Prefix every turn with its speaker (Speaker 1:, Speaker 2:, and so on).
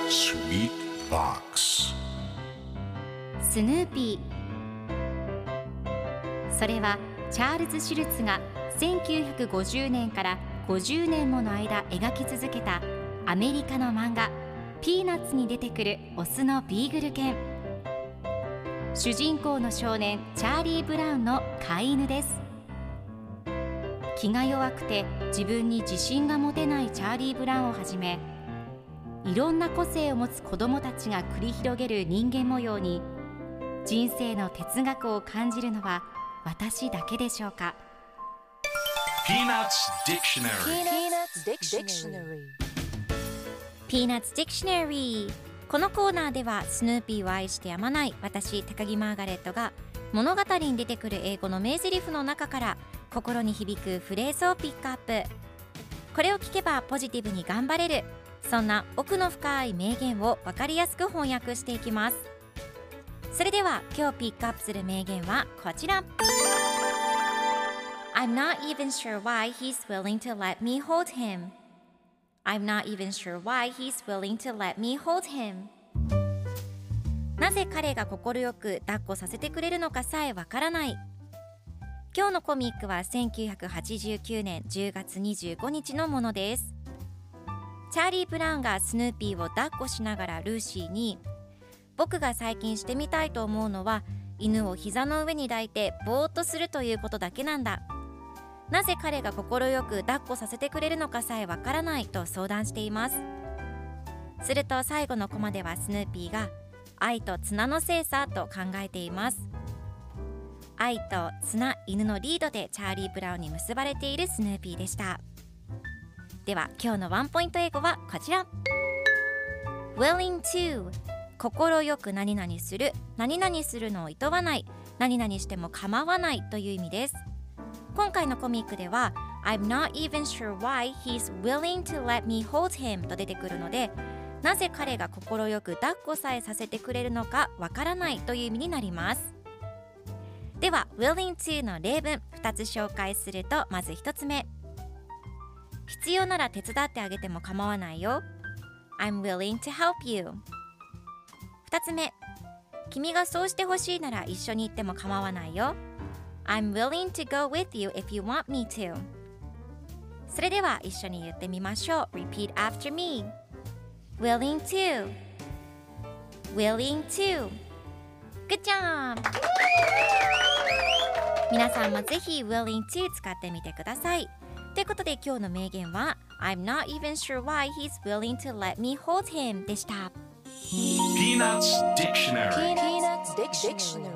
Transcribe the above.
Speaker 1: Sweet Box
Speaker 2: スヌーピー。それはチャールズ・シュルツが1950年から50年もの間描き続けたアメリカの漫画ピーナッツに出てくるオスのビーグル犬。主人公の少年チャーリー・ブラウンの飼い犬です。気が弱くて自分に自信が持てないチャーリー・ブラウンをはじめ、いろんな個性を持つ子どもたちが繰り広げる人間模様に人生の哲学を感じるのは私だけでしょうか。
Speaker 1: Peanuts Dictionary
Speaker 2: Peanuts Dictionary。 このコーナーではスヌーピーを愛してやまない私高木マーガレットが物語に出てくる英語の名台詞の中から心に響くフレーズをピックアップ。これを聞けばポジティブに頑張れる、そんな奥の深い名言を分かりやすく翻訳していきます。それでは今日ピックアップする名言はこちら。 I'm not even sure why he's willing to let me hold him. I'm not even sure why he's willing to let me hold him. なぜ彼が快く抱っこさせてくれるのかさえわからない。今日のコミックは1989年10月25日のものです。チャーリー・ブラウンがスヌーピーを抱っこしながらルーシーに、僕が最近してみたいと思うのは犬を膝の上に抱いてぼーっとするということだけなんだ。なぜ彼が快く抱っこさせてくれるのかさえわからないと相談しています。すると最後のコマではスヌーピーが愛と綱のせいさと考えています。愛と綱、犬のリードでチャーリー・ブラウンに結ばれているスヌーピーでした。では今日のワンポイント英語はこちら。 willing to、 心よく何々する、何々するのを厭わない、何々しても構わないという意味です。今回のコミックでは I'm not even sure why he's willing to let me hold him と出てくるので、なぜ彼が快く抱っこさえさせてくれるのかわからないという意味になります。では willing to の例文2つ紹介すると、まず1つ目、必要なら手伝ってあげても構わないよ。 I'm willing to help you。 2つ目、君がそうしてほしいなら一緒に行っても構わないよ。 I'm willing to go with you if you want me to。 それでは一緒に言ってみましょう。 Repeat after me。 willing to willing to。 Good job。 皆さんもぜひ willing to 使ってみてください。ということで今日の名言は I'm not even sure why he's willing to let me hold him でした。
Speaker 1: Peanuts Dictionary